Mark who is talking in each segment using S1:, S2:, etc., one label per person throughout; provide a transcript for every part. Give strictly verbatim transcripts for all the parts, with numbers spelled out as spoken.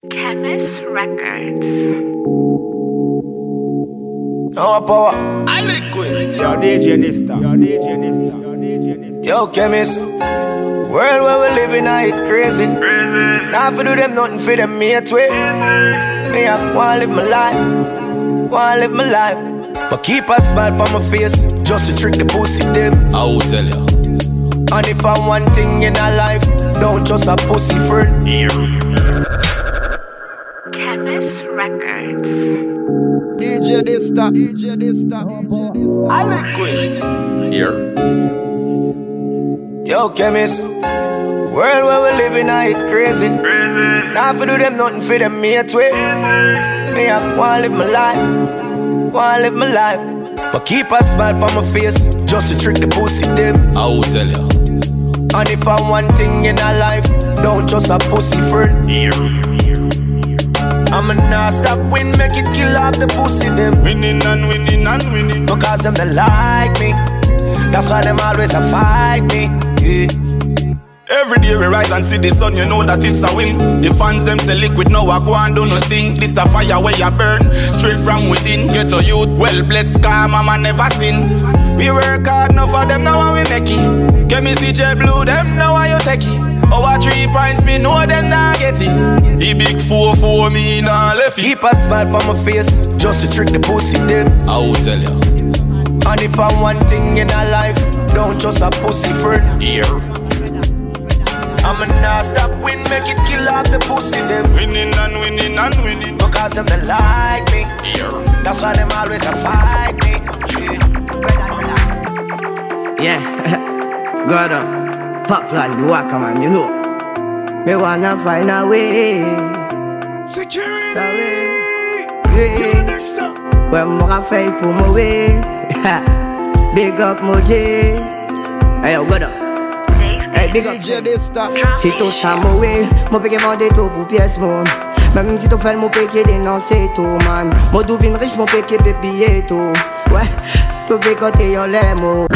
S1: Chemist Records.
S2: No power.
S3: I liquid.
S4: Yo, D J Nista. Yo, D J Nista. Yo, D J Nista.
S2: Yo, Chemist. World where we living, I it crazy. Now for do them nothing for them mate way. Me I wanna live my life, wanna live my life. But keep a smile on my face, just to trick the pussy them.
S3: I will tell ya.
S2: And if I'm one thing in a life, don't just a pussy friend.
S1: Chemist Records.
S4: D J Nista. D J Nista. D J Nista.
S3: I liquid. Here.
S2: Yo, Chemist. World where we living, I it crazy. Now for do them nothing for them mate way. Me I wanna live my life, wanna live my life. But keep a smile on my face, just to trick the pussy them.
S3: I will tell ya.
S2: And if I'm one thing in a life, don't just a pussy friend. I'ma not stop win, make it kill off the pussy them.
S3: Winning and winning and winning.
S2: Because them they like me, that's why them always a fight me. Yeah.
S3: Every day we rise and see the sun, you know that it's a win. The fans them say liquid, now I go and do nothing. This a fire where you burn, straight from within. Get your youth, well blessed, car mama never sin. We work hard, now for them, now we make it. Chemist C J Blue, them now you take it. Our three points, me know them not get it. The big four for me, nah left it.
S2: Keep a smile on my face, just to trick the pussy them.
S3: I will tell ya.
S2: And if I'm one thing in a life, don't just a pussy friend.
S3: Here.
S2: I'ma not stop win, make it kill off the pussy them.
S3: Winning and winning and winning.
S2: Because them they like me,
S3: Here.
S2: that's why them always a fight me. Yeah,
S5: Yeah, God up, pop plan, the walker man, you know. Me wanna find a way.
S3: Security.
S5: Yeah.
S3: Next up.
S5: When moi fait pour moi way. Big up Moji. Hey yo, God up. Hey, big up.
S4: D J Nista.
S5: Si tu ça mourir, mon péché m'a des tout pour pièce mon. Même si tu fais mon péché dénoncer tout man. Mon douvine riche mon péché baby et tout. Ouais, tout péché côté yon les mots.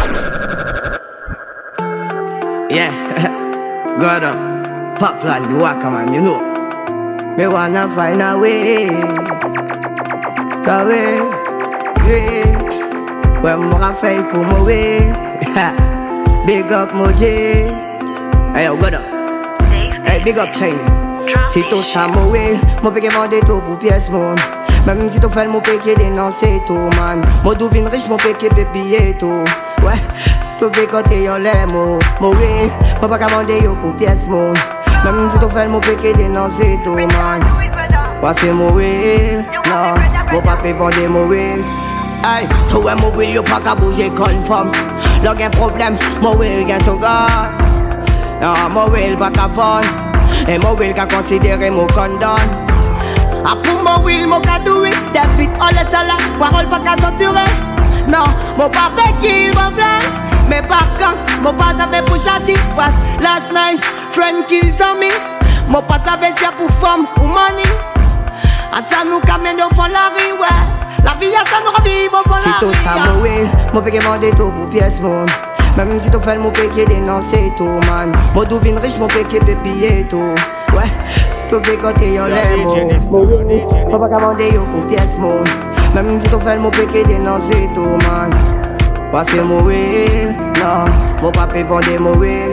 S5: Yeah, God up, pop plan the walker man, you know. Me wanna find a way. Ka way, yeah. When moi fait pour moi way. Big up Moji. Hey yo, God up. Hey, big up China. Si tu ça mourir, mon péché m'a des tout pour pièce mon. Même si tu fais mon péché dénoncer tout man. Mon douvine riche mon péché baby et tout. Ouais, tout péché côté yon les mots. Mourir, mon pas commander yo pour pièce mon. Même si tu fais mon péché dénoncer tout man. Passez mourir, non, mon papa vendre mourir. Hey, toi mourir yo pas qu'à bouger conforme. Là y'a problème, mourir y'a son gars. Ah, mourir pas qu'à fond. Et mourir qu'à considérer mon condom. Ah, pour mourir mon cadouille, des bits on laisse là, parole pas qu'à censurer. Non, mon papa qui m'a fait. Mais par quand, mon pas savait pour châtier. Parce last night, friend kills on me. Mon pas savait si pour femme ou money. Ah, ça nous camène au fond la rue, ouais. La vie, ça nous ravive au fond la rue. Si tout ça mourir, mon péché m'a des tout pour pièce mon. Même si tu fais mon péché dénoncer tout man. Mon douvine riche mon péché baby et tout. Ouais, tout péché côté yon les mots. Mon pas commander yo pour pièce mon. Même si tu fais mon péché dénoncer tout man. Passez mourir, non, mon papa vendre mourir.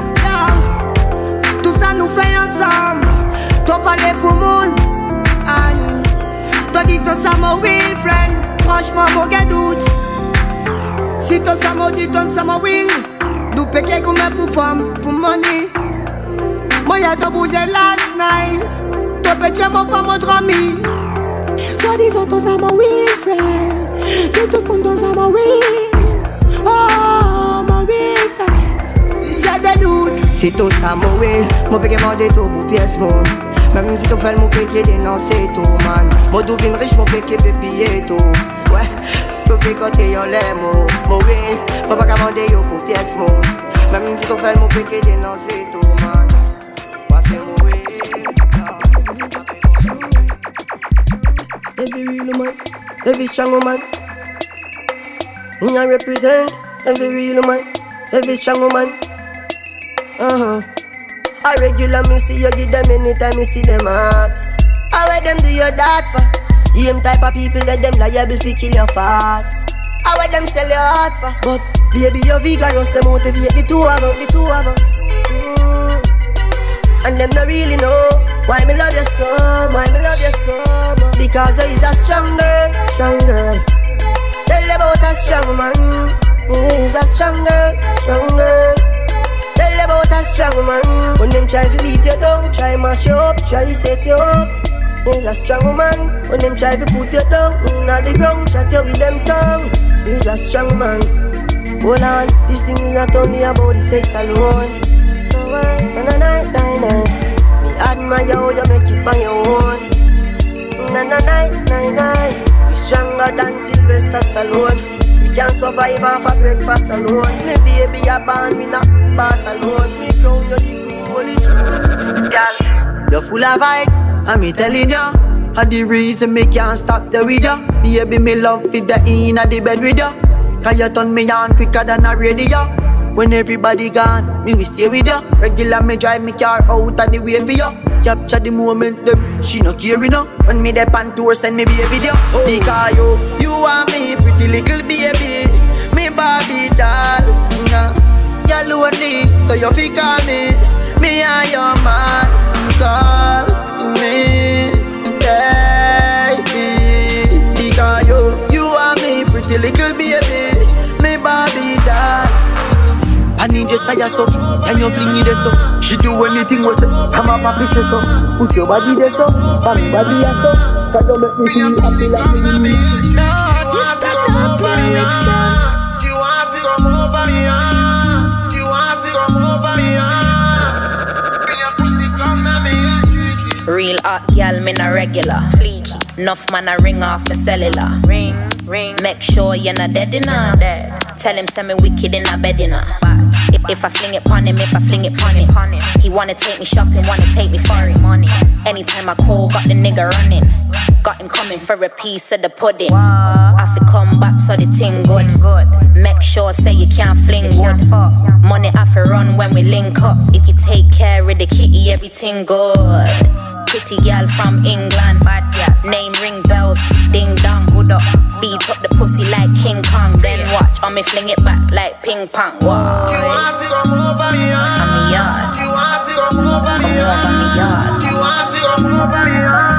S5: Tout ça nous fait ensemble. T'en parler pour monde. T'as dit ton ça mourir, friend. Franchement, mon gars doute. Si ton ça m'a dit ton ça mourir. Nous péquer comme pour femme, pour money. Moi y'a t'as bougé last night. T'as péché mon femme au drami. Soit disant ton ça mourir, friend. Tout le monde ton ça mourir. Oh, mourir, friend. J'ai des doutes. Si tout ça mourir, mon péché m'a dit tout pour pièce mon. Même si tu fais mon péché dénoncer tout man. Mon douvine riche mon péché baby et tout. Ouais, tout péché côté yon les mots. Mourir, mon pas commander yo pour pièce mon. Même si tu fais mon péché dénoncer tout man. Passez mourir. Every real man, every strong man. I represent every real man, every strong man. Uh-huh. A regular me see you give them anytime me see them ask. How them do your that for? Same type of people that them liable fi kill you fast. How them sell your heart for? But baby, your vigorous to motivate the two of us, the two of us. Mm. And them not really know why me love you so, why me love you so much. Because he's a strong girl, strong girl. Tell about a strong man. He's a strong girl, strong girl. Tell about a strong man. When them try to beat you down, try mash you up, try set you up. He's a strong man. When them try to put you down, in the ground, chat you with them tongue. He's a strong man. Hold on, this thing is not only about the sex alone. No way, na na na na na. Me admire how you make it by your own. Na na na na na. We stronger than Sylvester Stallone. We can survive off a breakfast alone. Me baby a born me not pass alone. Me crown you the queen, holy true. Girl, you're full of vibes, and me telling you. And the reason me can't stop the with ya. Baby, me love fit the in at the bed with ya. Cause you turn me on quicker than a radio. When everybody gone, me we stay with ya. Regular me drive me car out of the way for ya. Capture the moment them, she no care enough. When me dey pan tour, send me be a video. Oh. Because you, you are me pretty little baby. Me Barbie doll. Nah. You lonely, so you fi call me. Me and your man, call me. Baby, because you, you are me pretty little baby, me Barbie doll. I need your side so, and you fling it so. She do anything with it, I'm a papi so. Put your body there so, and body there so. Cause you make me feel happy like me. You start up right. Do you want to come over here? Do you want to come over here? Bring your pussy, come at me.
S6: Real hot girl, me na regular. Enough man a ring off the cellular. Ring, ring. Make sure you're not dead enough. Dead. Tell him send me wicked in a bed enough. If, if I fling it pon him, if I fling it pon him. He wanna take me shopping, wanna take me for him. Anytime I call, got the nigga running. Got him coming for a piece of the pudding. I fi come back so the thing good. Make sure say you can't fling wood. Money I fi run when we link up. If you take care of the kitty, everything good. Pretty girl from England, bad girl. Name ring bells, ding dong, good up. Beat up the pussy like King Kong. Then watch, on me fling it back like ping pong. Wow.
S5: Do you want to come over here?
S6: I'm a yard.
S5: Do you want to come over here?
S6: Come over me yard.
S5: Do you want to come over here?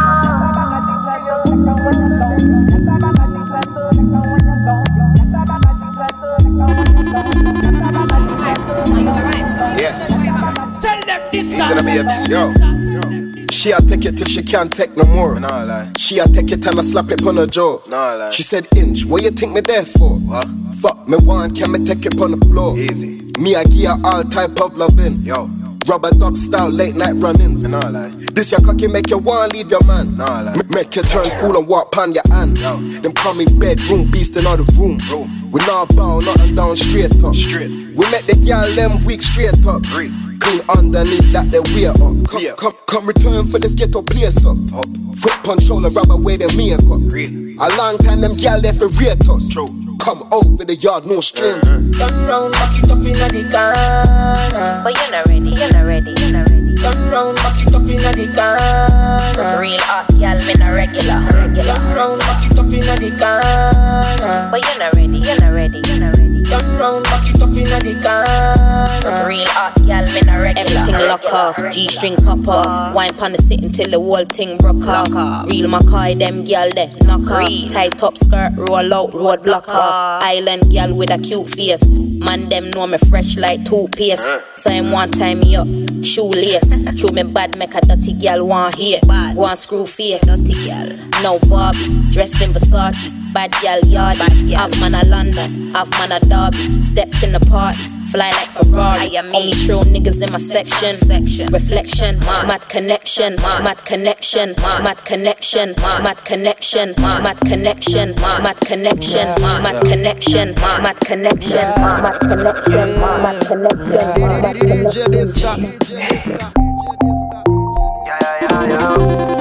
S4: Yes.
S7: Tell them this
S4: He's gonna be a yo. She a take it till she can't take no more. Nah, lie. She a take it and I slap it on her jaw. Nah, lie. She said, Inch, what you think me there for? What? Fuck me one, can me take it on the floor? Easy. Me I give her all type of loving. Yo. Rubber dub style, late night run-ins. Nah, lie. This your cocky make you want leave your man. Nah, lie. M- make you turn fool and walk pon your hand. Yo. Them call me bedroom beast in all the room. Bro. We not bow, nothing down straight up. Straight. We make the girl them weak straight up. Three. Clean underneath that they wear up. Come, yeah. come, come return for this ghetto place up. up. Foot punch shoulder rub away the makeup. Really? A long time them gal there for rate us. True. Come over the yard, no stranger.
S5: Uh-huh. Turn round, back it up inna the car.
S6: But you're not ready, you're not ready, you're not ready.
S5: Turn round, back it up inna the car.
S6: Real hot girl, me na regular.
S5: Turn round, back it up inna the car.
S6: But you're not ready, you're not ready, you're not ready.
S5: Turn round, back it up inna the car.
S6: Real hot girl, me na regular. Everything lock off, G-string pop off. Wine pon the sitting till the whole thing broke off. Real Mackay, them girl there, knock off. Tight top skirt, roll out, road block off. Island girl with a cute face. Man them know me fresh like toothpaste. So him one time me up, shoelace. Show me bad, make a dirty girl want hate. Want screw face. No Barbie, dressed in Versace. Bad girl yard. Half man a London, half man a Derby. Stepped in the party, fly like Ferrari. Only true niggas in my section. Reflection, mad connection, mad connection, mad connection, mad connection, mad connection, mad connection, mad connection, mad connection, mad connection, mad connection.
S4: D J Dista. Yeah, yeah, yeah,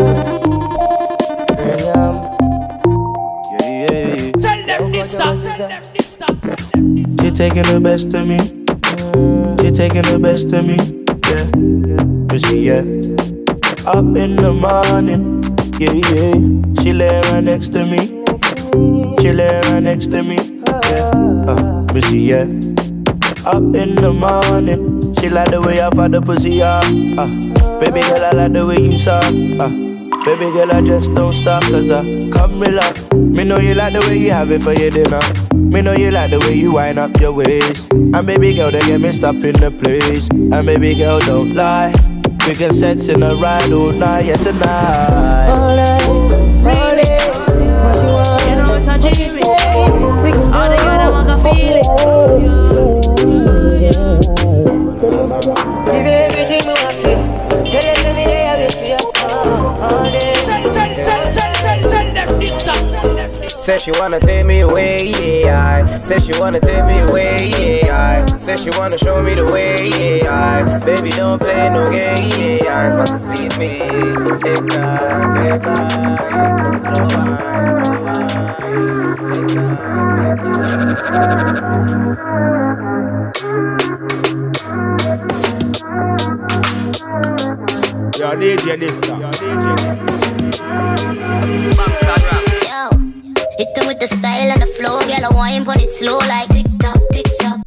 S4: yeah.
S7: Tell them this stuff, tell them this stuff.
S8: She taking the best of me. She taking the best of me. Yeah, you see, yeah. Up in the morning, yeah, yeah. She lay right next to me. She lay right next to me. Yeah, uh, busy, yeah. Up in the morning, she like the way I fuck the pussy, yeah. Uh, baby girl, I like the way you suck. Uh, baby girl, I just don't stop, cause I come relax. Me know you like the way you have it for your dinner. Me know you like the way you wind up your waist. And baby girl, they get me stop in the place. And baby girl, don't lie. We can sex in a ride all night, yeah, tonight.
S5: All night, all day. What you want?
S7: You know what's a G B? All together, I can feel it.
S5: Give everything me want to. Tell them me they have it for you. All day.
S7: Tell, tell, tell, tell, tell, tell them this stuff. Tell them this.
S9: Said she wanna take me away, yeah. I said she wanna take me away, yeah. I said she wanna show me the way, yeah. I baby don't play no game, yeah. It's about to please me. Take time, take time, slow wine, slow wine. Take time, take time.
S10: Yo, D J this time. Yo, D J this time.
S11: Hit them with the style and the flow, girl, I wine pon it slow like tick tock, tick tock.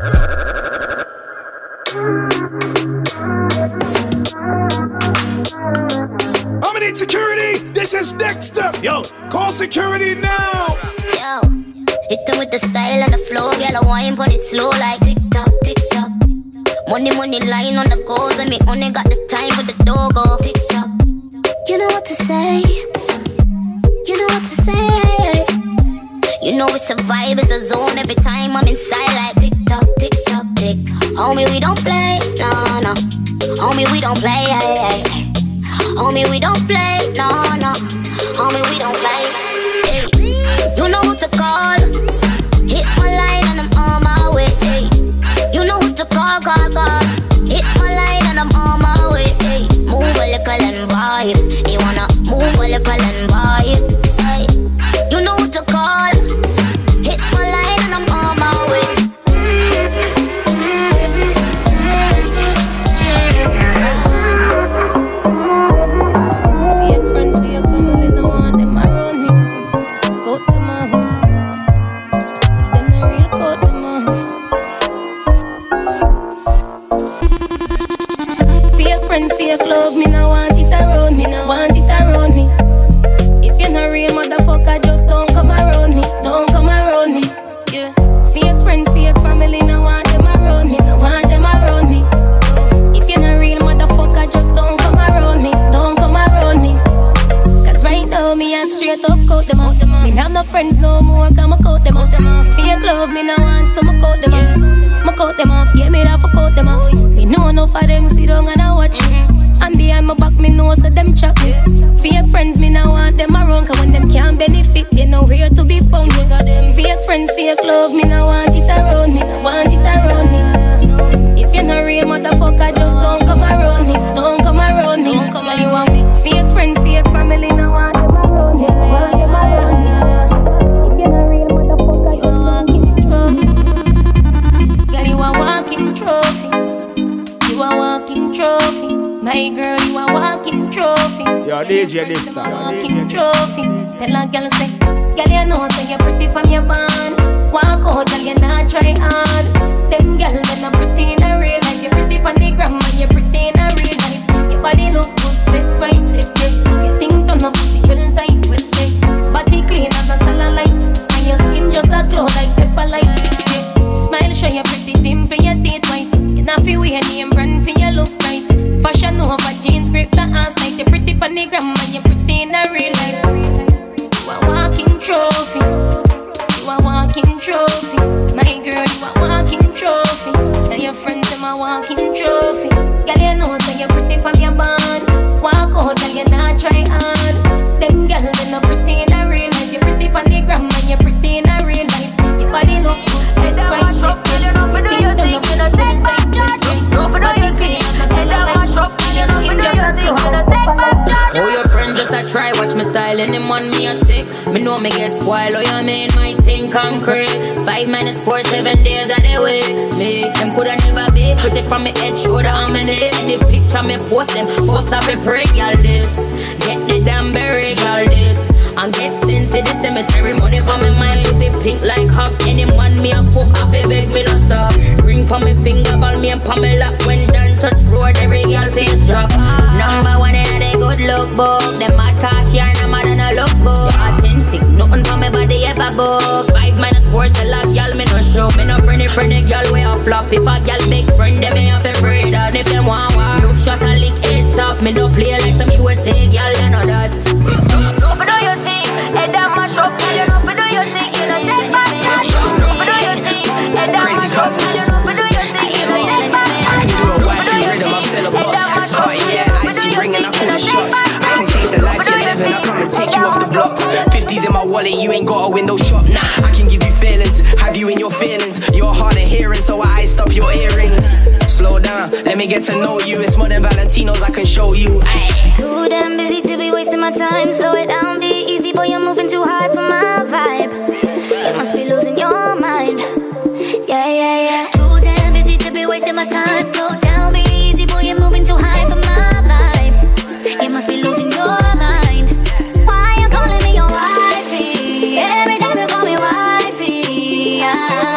S10: I'm gonna need security. This is next step. Yo, call security now.
S11: Yo, hit them with the style and the flow, girl, I wine pon it slow like tick tock, tick tock. Money, money line on the goals, and me only got the time for the doggo. Tick tock. You know what to say. You know what to say. You know it's a vibe, it's a zone. Every time I'm inside like tick tock, tick tock, tick. Homie, we don't play, no, no. Homie, we don't play, hey, hey. Homie, we don't play, no, no. Homie, we don't play, hey. You know who to call. Hit my line and I'm on my way, hey. You know who to call, call, call. Hit my line and I'm on my way, hey. Move a little and vibe. You wanna move a little and vibe, hey. You know who to call. Hit my line and I'm on my way.
S6: Fake friends, fake family, no one them around me. Cut them off. If them not real, cut them off. Fake friends, fake love, me no want it around me, no want it around me. If you're not real, motherfucker, just don't come around me, don't come around me. Yeah. Fake friends, fake family, no want them around me, no want them around me. If you're not real, motherfucker, just don't come around me, don't come around me. Cause right now, me a straight up cut them off. Me have no friends no more, cause I cut them off. Fake love, me no want, so I cut them off. I cut them off, yeah, me have to cut them off. Me know enough of them sit down and I watch me. And behind my back, me know so them chat me. Fake friends, me no want them around, cause when them can't benefit, they nowhere to be found. Fake friends, fake love, me no want it around me, no want it around me. If you're not real, motherfucker, just don't come around me, don't come around me. Girl, you want fake friends, fake family, no want them around me, no want them around me. If you're not real, motherfucker, you a walking trophy. Girl, you a walking trophy. You a walking trophy. My girl, you a walking trophy.
S10: Yo, D J this time.
S6: Walking trophy. Tell a girl say, girl, you know say you're pretty from your band. Walk out, girl, you not try hard. Them girl, they not pretty in a real life. You're pretty on the gram, and you're pretty in a real life. Your body look good, set right, set yeah. Your thing turn up, pussy well tight, well tight. Body clean and a cellulite, and your skin just a glow like pepper light. Yeah. Smile, show you pretty dimple, your teeth white. You not feel weird, name brand for your look right. Fashion over jeans, grip the ass like the pretty on the gram, and you're pretty in a real life. You a walking trophy. You a walking trophy. My girl, you a walking trophy. Tell your friends them a walking trophy. Girl, you know say you're pretty from your band. Walk out, girl, you not try hard. Them girls they not pretty in a real life. You're pretty on the gram, and you're pretty in a real life. Your body look good, set right, set good. Think them up, think them up, think back, body clean, and a cellulite.
S12: Oh, your friend just a try, watch me style and them on me a tick. Me know me get spoiled, oh you mean my thing concrete. Five minutes, four, seven days of the week. Me, them coulda never be pretty from me head, shoulder, and me neck. Any picture me post them, post up a break, y'all this. Get the damn berry, y'all and get sent to the cemetery. Money for me mind, pussy pink like hop. Any man me a fuck off, a beg me no stop. Ring for me finger, ball me and Pamela. When done touch road, every girl face drop. Number one in a good look book. Them mad cash yarn, I'm mad and I look good. Authentic, nothing for me body ever book. Five minus four, tell a girl me no show. Me no friendly, friendly girl way off flop. If a girl big friend, them me have to pray that. If them want war, no shot and lick it top. Me no play like some U S A girl, you know that. No for do your thing, head that mash up. Girl, you know for do your thing, you know take back that. No for do your thing, head that mash up. Girl, you know for do your thing, you know take back that.
S13: I can do a wifey rhythm, I'm still a boss. Oh yeah, I see ringing, I call the shots. I can change the life you're living, I come and take you off the blocks. Fifties in my wallet, you ain't got a window shop. Nah, I can give you feelings, have you in your feelings. You're hard of hearing, so I stop your earrings. Slow down, let me get to know you. It's more than Valentinos, I can show you. Ay.
S11: Too damn busy to be wasting my time. Slow it down, be easy, boy, you're moving too high for my vibe. You must be losing your mind. Yeah, yeah, yeah. Too damn busy to be wasting my time. Slow down, be easy, boy, you're moving too high for my vibe. You must be losing your mind. Why you calling me your wifey? Every time you call me wifey, yeah.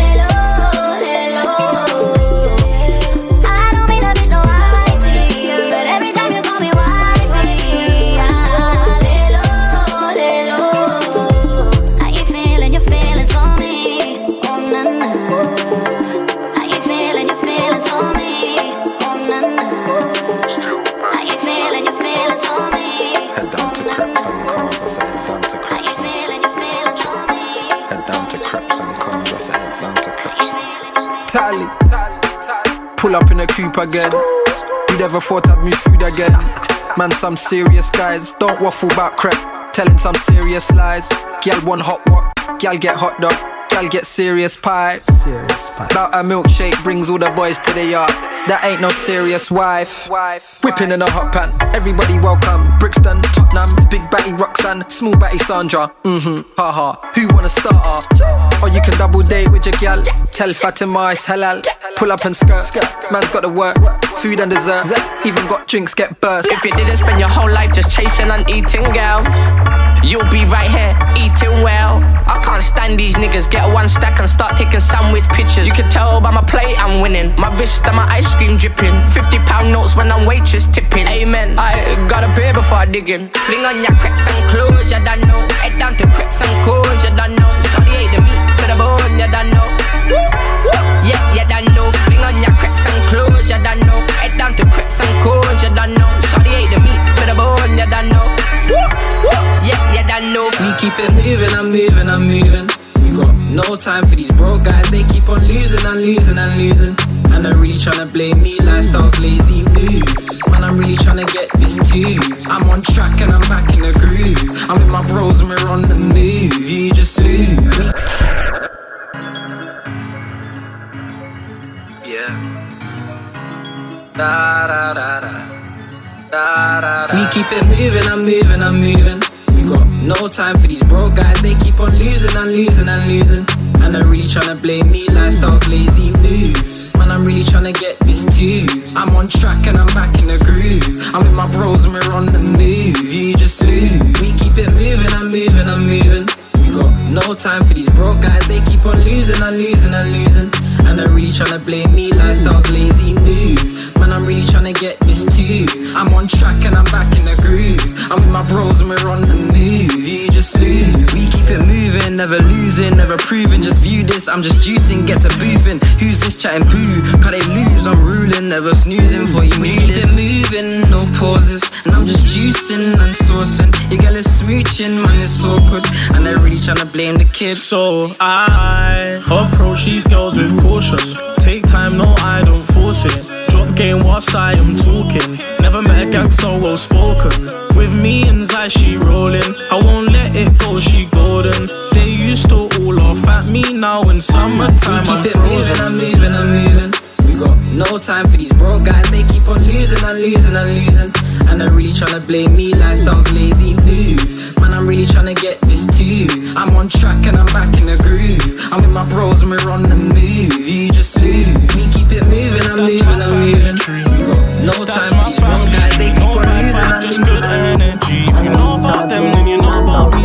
S14: Tally, pull up in a coupe again. You never thought I'd move food again. Man, some serious guys don't waffle about crap, telling some serious lies. Gyal want hot what? Gyal get hot dog. Gyal get serious pie. Serious pie. About a milkshake brings all the boys to the yard. That ain't no serious wife. Whipping in a hot pan, everybody welcome. Brixton, Tottenham, big batty Roxanne, small batty Sandra. Mm-hmm, haha. Who wanna start her? Or you can double date with your gal. Tell Fatima it's halal. Pull up and skirt. Man's got to work, food and dessert. Even got drinks get burst.
S15: If you didn't spend your whole life just chasing and eating, girl, you'll be right here eating well. I can't stand these niggas. Get one stack and start taking sandwich pictures. You can tell by my plate I'm winning. My wrist and my ice cream dripping. Fifty pound notes when I'm waitress tipping. Amen. I got a beer before I dig in. Fling on your crepes and clothes, you don't know. Head down to crepes and cones, you don't know. Shawty ate the meat to the bone, you don't know. Yeah, you don't know. Fling on your crepes and clothes, you don't know. Head down to crepes and cones, you don't know. Shawty ate the meat to the bone, you don't know. Yeah, you don't know.
S16: We keep it moving, I'm moving, I'm moving. We got no time for these broke guys. They keep on losing and losing and losing. And they're really tryna blame me, lifestyle's lazy move. Man, I'm really tryna get this too. I'm on track and I'm back in the groove. I'm with my bros and we're on the move. You just lose. Yeah. Da da da da. Da da da. We keep it moving, I'm moving, I'm moving. We got no time for these broke guys. They keep on losing and losing and losing. And they're really tryna blame me, lifestyle's lazy move. Man, I'm really tryna get this too. I'm on track and I'm back in the groove. I'm with my bros and we're on the move. You just lose. We keep it moving, I'm moving, I'm moving. We got no time for these broke guys. They keep on losing and losing and losing. And they're really tryna blame me, lifestyle's lazy move. Man, I'm really tryna get this too. I'm on track and I'm back in the groove. I'm with my bros and we're on the move. You just lose. We keep it moving, never losing, never proving. Just view this, I'm just juicing, get to boofing. Who's this chatting poo? Cause they lose, I'm ruling, never snoozing for you. We keep it moving, no pauses. And I'm just juicing and saucing. Your girl is smooching, man, it's awkward. And they're really tryna blame the kid.
S17: So I approach these girls with caution. Take time, no, I don't force it. Drop game whilst I am talking. Never met a gangster well spoken. With me and Zai, she rolling. I won't let it go, she golden. They used to all laugh at me now in summertime.
S16: We keep
S17: I'm
S16: it
S17: frozen.
S16: moving, I'm moving, I'm moving. We got no time for these broke guys. They keep on losing and losing and losing. And they're really tryna blame me, lifestyle's lazy move. Man, I'm really tryna get this too. I'm on track and I'm back in the groove. I'm with my bros and we're on the move. You just lose. We keep it moving, I'm moving, I'm moving. We got no time for these broke guys. They keep on losing and losing.
S17: Just good energy. If you know about them, then you know about me.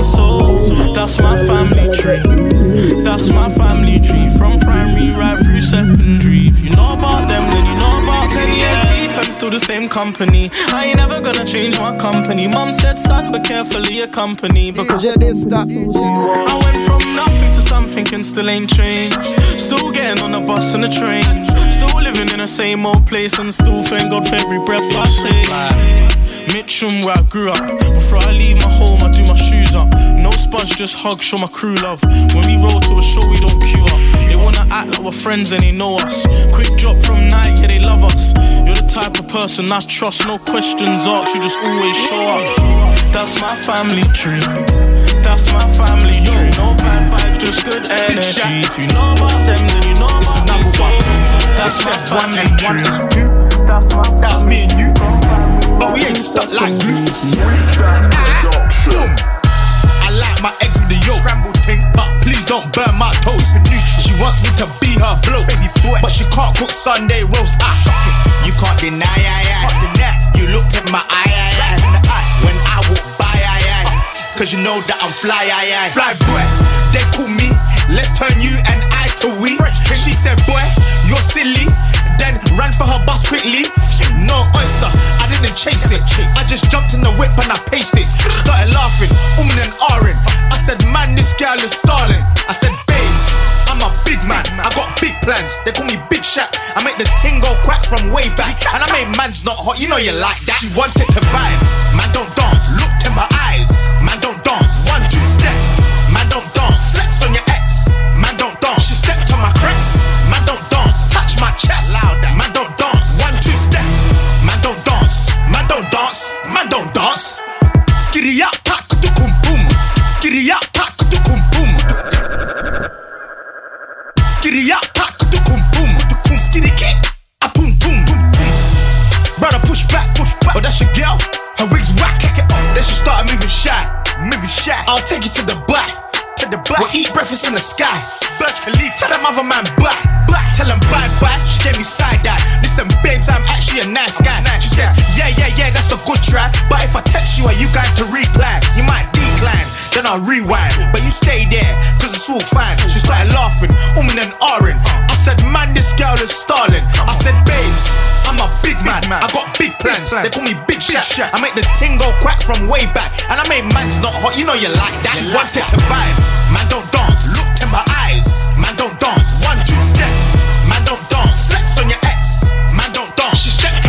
S17: company. I ain't never gonna change my company. Mom said, son, be careful of your company. Because I went from nothing to something and still ain't changed. Still getting on the bus and the train. Still living in the same old place and still thank God for every breath I take. Mitcham where I grew up. Before I leave my home I do my shoes up. No sponge, just hug, show my crew love. When we roll to a show we don't queue up. They wanna act like we're friends and they know us. Quick drop from night, yeah they love us. You're the type of person I trust. No questions asked, you just always show up. That's my family tree. That's my family tree. No bad vibes, just good energy. If you know about them then you know about me too. That's my one and one is two. That's me and you. But we ain't stuck like glue. Ah, boom. I like my eggs with the yolk, scrambled thing, but please don't burn my toast. She wants me to be her bloke, but she can't cook Sunday roast. Ah, you can't deny, I, I. You looked at my eye, I, I. When I walk by, I, I. Cause you know that I'm fly, I, I. Fly boy, they call me. Let's turn you and I to we. She said, boy, you're silly. Then ran for her bus quickly. No oyster, I didn't chase it. I just jumped in the whip and I paced it. She started laughing, umming and ahhing. I said, man, this girl is stalling. I said, babes, I'm a big man. I got big plans. They call me Big Shaq. I make the ting go quack from way back. And I made man's not hot, you know you like that. She wanted to vibe. Man, don't dance. Looked in my eyes. Man, don't dance. One, two, step. Man, don't dance. Flex on your ex. Man, don't dance. She stepped on my crepes. Man, don't dance. Touch my chest. Louder. Man, don't dance. One, two, step. Man, don't dance. Man, don't dance. Man, don't dance. Skiddy up, pack to kum boom. Skiddy up, pack to kum boom. Skiddy up, pack to kum boom. Skiddy kick, a boom boom. Brother push back, push back. Oh, that's your girl. Her wig's whack. Then she started moving shy, moving shy. I'll take you to the back. The black. We'll eat breakfast in the sky. Burj Khalifa. Tell them other man bye, bye. Tell them bye bye. She gave me side eye. Listen, babes, I'm actually a nice guy. She said, yeah, yeah, yeah, that's a good try. But if I text you, are you going to reply? You might decline, then I'll rewind. But you stay there, cause it's all fine. She started laughing, umming and ahhing. I said, man, this girl is stalling. I said, babes, I'm a big man. I got big plans. They call me Big Shaq. I make the ting go quack from way back. And I made man's not hot, you know you like that. She wanted to vibe. Man, don't dance. Looked in my eyes. Man, don't dance. One, two, step. Man, don't dance. Flex on your ex. Man, don't dance. She stepped